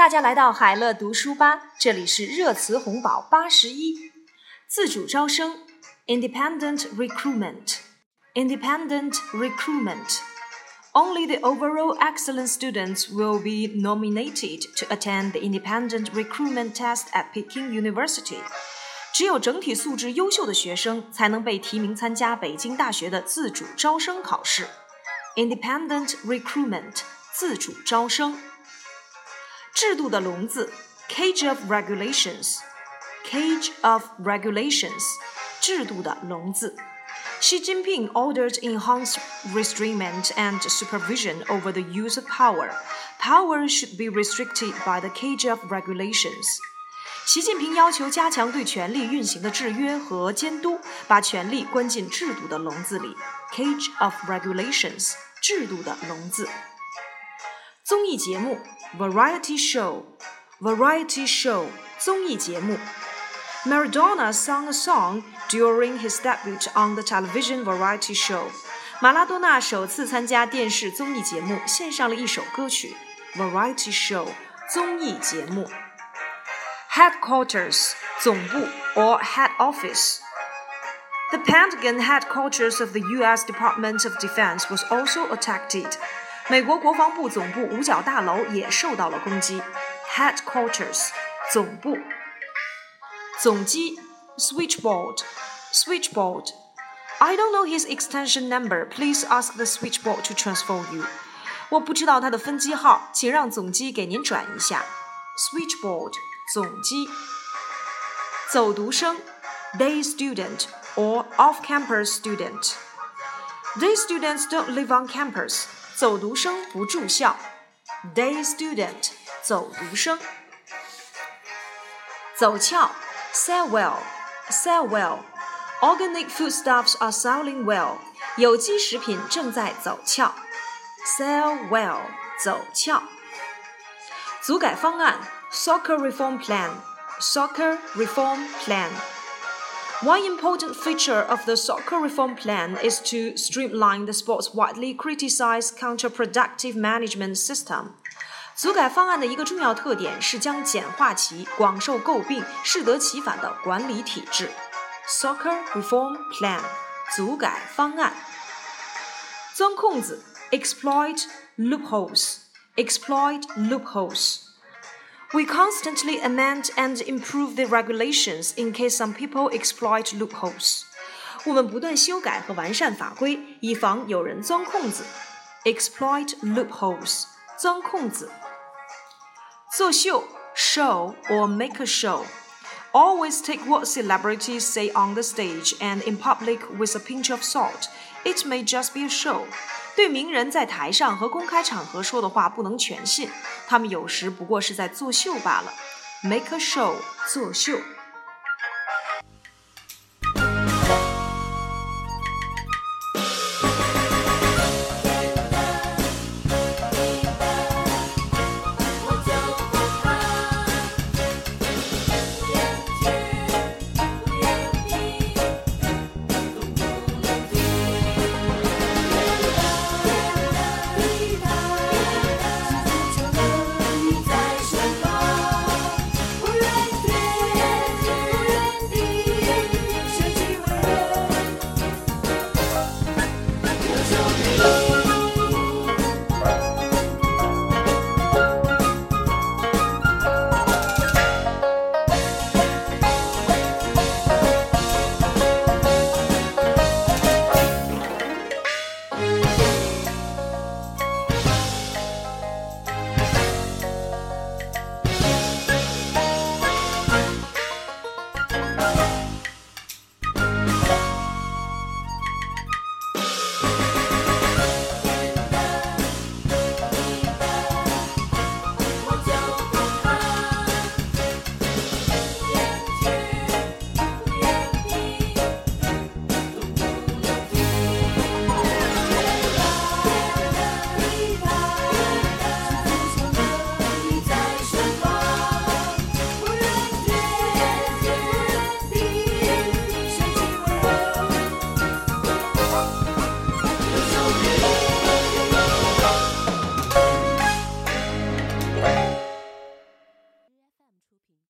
大家来到海乐读书吧，这里是热词红宝81。自主招生 Independent Recruitment Only the overall excellent students will be nominated to attend the independent recruitment test at Peking University. 只有整体素质优秀的学生才能被提名参加北京大学的自主招生考试。Independent recruitment 自主招生。制度的笼子 Cage of regulations 制度的笼子。Xi Jinping ordered enhanced restraint and supervision over the use of power. Power should be restricted by the cage of regulations. 习近平要求加强对权力运行的制约和监督，把权力关进制度的笼子里。Cage of regulations 制度的笼子。综艺节目 Variety show 综艺节目。Maradona sang a song during his debut on the television variety show. 马拉多纳首次参加电视综艺节目，献上了一首歌曲。Variety show 综艺节目。Headquarters 总部 or head office. The Pentagon headquarters of the U.S. Department of Defense was also attacked. 美国国防部总部五角大楼也受到了攻击。Headquarters 总部。总机 switchboard I don't know his extension number. Please ask the switchboard to transfer you. 我不知道他的分机号，请让总机给您转一下。Switchboard 总机。走读生 day student or off-campus student. Day students don't live on campus. 走读生不住校。Day student 走读生。走俏Sell well. Organic foodstuffs are selling well. 有机食品正在走俏。Sell well. 走俏。组改方案 Soccer reform plan. One important feature of the soccer reform plan is to streamline the sport's widely criticized counterproductive management system.组改方案的一个重要特点是将简化其广受诟病、适得其反的管理体制。Soccer Reform Plan 组改方案。钻空子 Exploit loopholes. We constantly amend and improve the regulations in case some people exploit loopholes. 我们不断修改和完善法规，以防有人钻空子。Exploit loopholes 钻空子。作秀 show or make a show. Always take what celebrities say on the stage and in public with a pinch of salt. It may just be a show. 对名人在台上和公开场合说的话不能全信，他们有时不过是在作秀罢了。Make a show 作秀。